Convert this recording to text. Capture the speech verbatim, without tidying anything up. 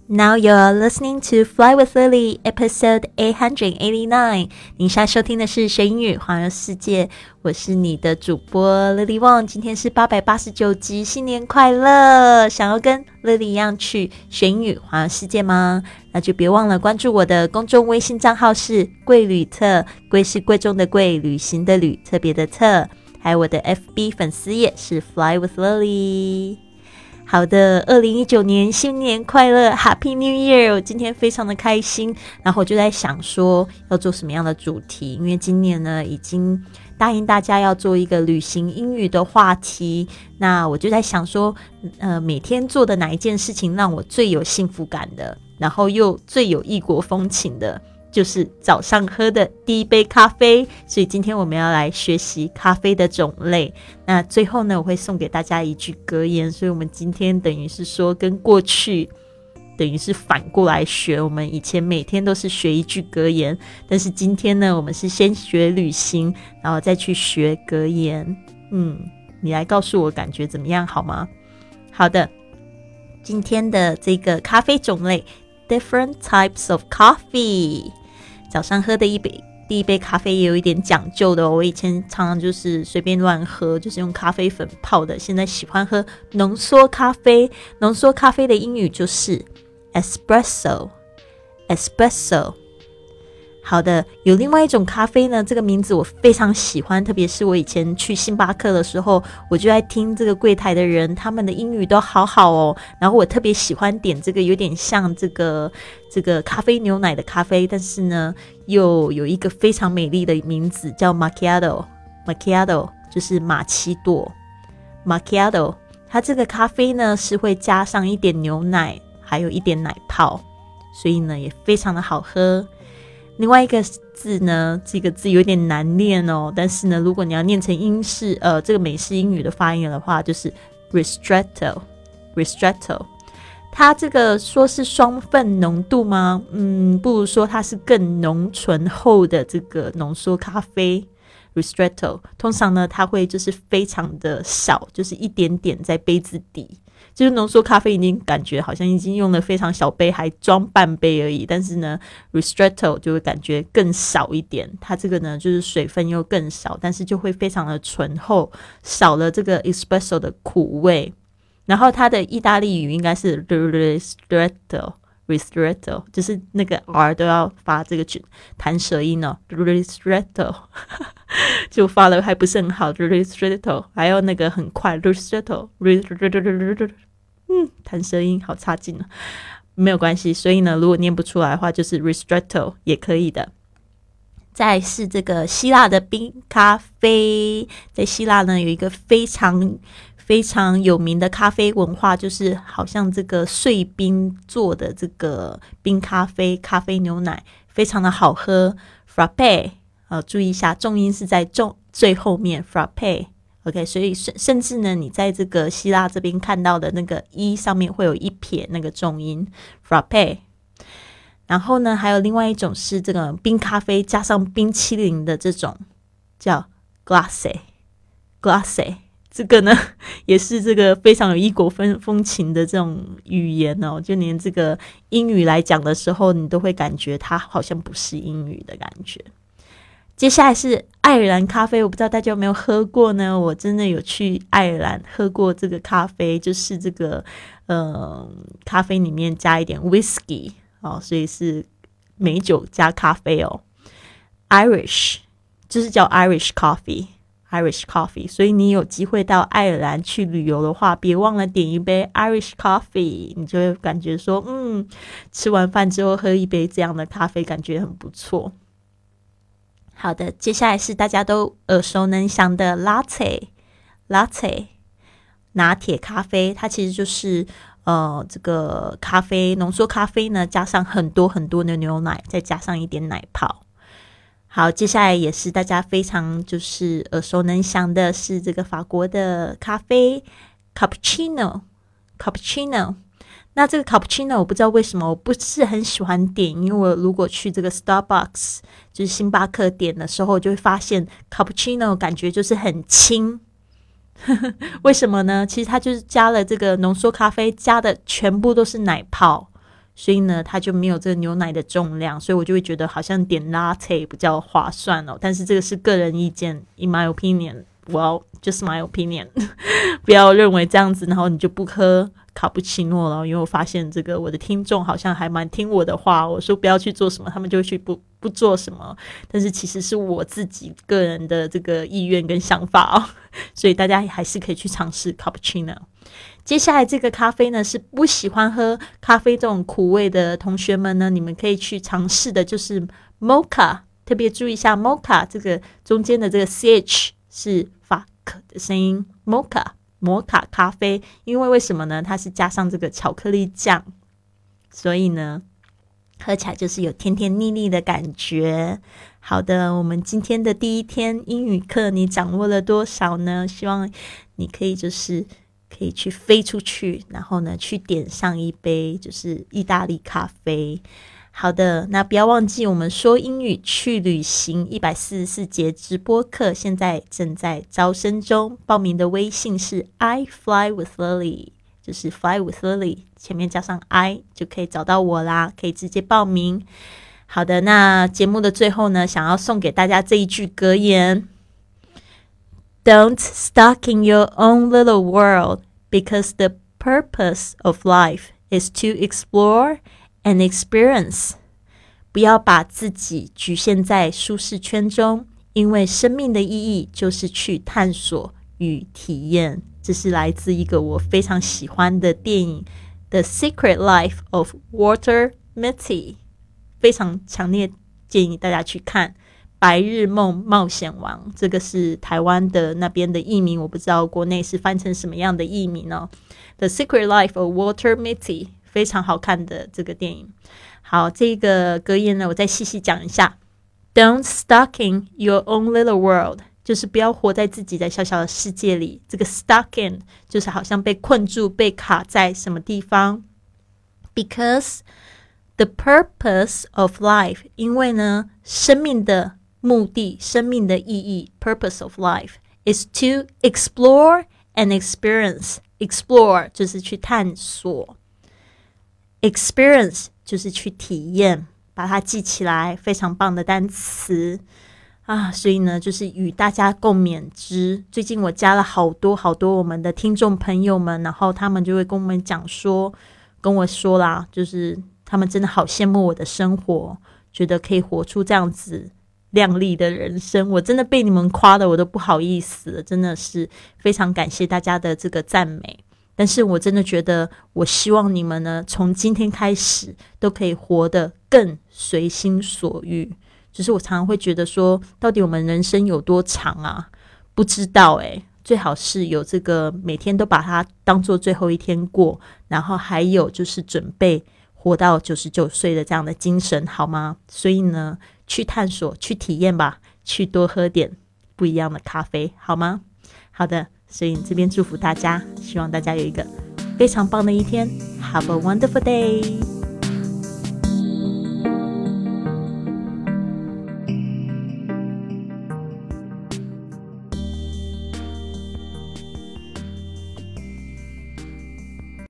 Now you're listening to Fly with Lily, episode eight eighty-nine. 您现在收听的是学英语环游世界，我是你的主播 Lily Wong。今天是八百八十九集，新年快乐！想要跟 Lily 一样去学英语环游世界吗？那就别忘了关注我的公众微信账号是贵旅特，贵是贵重的贵，旅行的旅，特别的特。还有我的 F B 粉丝页是 Fly with Lily。好的，二零一九年新年快乐 Happy New Year。 我今天非常的开心，然后我就在想说要做什么样的主题，因为今年呢已经答应大家要做一个旅行英语的话题，那我就在想说呃，每天做的哪一件事情让我最有幸福感的，然后又最有异国风情的，就是早上喝的第一杯咖啡。所以今天我们要来学习咖啡的种类，那最后呢我会送给大家一句格言，所以我们今天等于是说跟过去等于是反过来学，我们以前每天都是学一句格言，但是今天呢我们是先学旅行然后再去学格言。嗯，你来告诉我感觉怎么样好吗？好的，今天的这个咖啡种类 Different types of coffee。 早上喝的一杯第一杯咖啡也有一点讲究的哦，我以前常常就是随便乱喝，就是用咖啡粉泡的，现在喜欢喝浓缩咖啡。浓缩咖啡的英语就是 espresso espresso。 好的，有另外一种咖啡呢，这个名字我非常喜欢，特别是我以前去星巴克的时候，我就在听这个柜台的人，他们的英语都好好哦，然后我特别喜欢点这个有点像这个这个咖啡牛奶的咖啡，但是呢又有一个非常美丽的名字叫 macchiato macchiato 就是玛奇朵 macchiato。 它这个咖啡呢是会加上一点牛奶还有一点奶泡，所以呢也非常的好喝。另外一个字呢，这个字有点难念哦，但是呢如果你要念成英式呃这个美式英语的发音的话，就是 ristretto ristretto。 它这个说是双份浓度吗？嗯，不如说它是更浓醇厚的这个浓缩咖啡 ristretto。 通常呢它会就是非常的少，就是一点点在杯子底，就是浓缩咖啡已经感觉好像已经用了非常小杯，还装半杯而已，但是呢 ristretto 就会感觉更少一点，它这个呢就是水分又更少，但是就会非常的醇厚，少了这个 espresso 的苦味。然后它的意大利语应该是 ristretto ristretto， 就是那个 R 都要发这个弹舌音哦 ristretto 就发的还不是很好 ristretto， 还有那个很快 ristretto ristretto， 嗯，弹舌音好差劲哦，没有关系，所以呢如果念不出来的话就是 ristretto 也可以的。再来是这个希腊的冰咖啡，在希腊呢有一个非常非常有名的咖啡文化，就是好像这个碎冰做的这个冰咖啡，咖啡牛奶非常的好喝 frappe， 呃，注意一下重音是在重最后面 frappe OK， 所以甚至呢你在这个希腊这边看到的那个一上面会有一撇那个重音 frappe。然后呢还有另外一种是这个冰咖啡加上冰淇淋的这种叫 glace glace， 这个呢也是这个非常有异国风风情的这种语言哦，就连这个英语来讲的时候你都会感觉它好像不是英语的感觉。接下来是爱尔兰咖啡，我不知道大家有没有喝过呢？我真的有去爱尔兰喝过这个咖啡，就是这个呃咖啡里面加一点 whisky哦，所以是美酒加咖啡哦。 Irish 就是叫 Irish coffee Irish coffee， 所以你有机会到爱尔兰去旅游的话，别忘了点一杯 Irish coffee， 你就会感觉说嗯，吃完饭之后喝一杯这样的咖啡感觉很不错。好的，接下来是大家都耳熟能详的 latte latte 拿铁咖啡，它其实就是呃，这个咖啡浓缩咖啡呢加上很多很多的牛奶，再加上一点奶泡。好，接下来也是大家非常就是耳熟能详的是这个法国的咖啡 cappuccino cappuccino。 那这个 cappuccino 我不知道为什么我不是很喜欢点，因为我如果去这个 Starbucks 就是星巴克点的时候，我就会发现 cappuccino 感觉就是很轻为什么呢？其实它就是加了这个浓缩咖啡，加的全部都是奶泡， 所以呢它就没有这个牛奶的重量，所以我就会觉得好像点 latte 比较划算哦。但是这个是个人意见 in my opinion well just my opinion 不要认为这样子然后你就不喝卡布奇诺了，因为我发现这个我的听众好像还蛮听我的话，我说不要去做什么他们就会去不不做什么，但是其实是我自己个人的这个意愿跟想法哦，所以大家还是可以去尝试卡布奇诺。接下来这个咖啡呢是不喜欢喝咖啡这种苦味的同学们呢，你们可以去尝试的就是 mocha， 特别注意一下 mocha 这个中间的这个 ch 是法克的声音 mocha摩卡咖啡，因为为什么呢？它是加上这个巧克力酱，所以呢喝起来就是有甜甜腻腻的感觉。好的，我们今天的第一天英语课你掌握了多少呢？希望你可以就是可以去飞出去，然后呢去点上一杯就是意大利咖啡。好的，那不要忘记我们说英语去旅行一百四十四节直播课现在正在招生中，报名的微信是 I fly with Lily， 就是 fly with Lily 前面加上 I 就可以找到我啦，可以直接报名。好的，那节目的最后呢，想要送给大家这一句格言， Don't stuck in your own little world because the purpose of life is to explore and experience， 不要把自己局限在舒适圈中，因为生命的意义就是去探索与体验。这是来自一个我非常喜欢的电影 The Secret Life of Walter Mitty， 非常强烈建议大家去看白日梦冒险王，这个是台湾的那边的译名，我不知道国内是翻成什么样的译名哦。 The Secret Life of Walter Mitty，非常好看的这个电影。好，这个格言呢我再细细讲一下， Don't stuck in your own little world， 就是不要活在自己的小小的世界里，这个 stuck in 就是好像被困住被卡在什么地方， Because the purpose of life， 因为呢生命的目的生命的意义 purpose of life is to explore and experience， explore 就是去探索，experience 就是去体验，把它记起来，非常棒的单词啊！所以呢就是与大家共勉之。最近我加了好多好多我们的听众朋友们，然后他们就会跟我们讲说跟我说啦，就是他们真的好羡慕我的生活，觉得可以活出这样子亮丽的人生。我真的被你们夸的我都不好意思了，真的是非常感谢大家的这个赞美。但是我真的觉得我希望你们呢从今天开始都可以活得更随心所欲。就是我常常会觉得说到底我们人生有多长啊，不知道欸，最好是有这个每天都把它当做最后一天过，然后还有就是准备活到九十九岁的这样的精神，好吗？所以呢去探索去体验吧，去多喝点不一样的咖啡，好吗？好的，所以这边祝福大家，希望大家有一个非常棒的一天。 Have a wonderful day。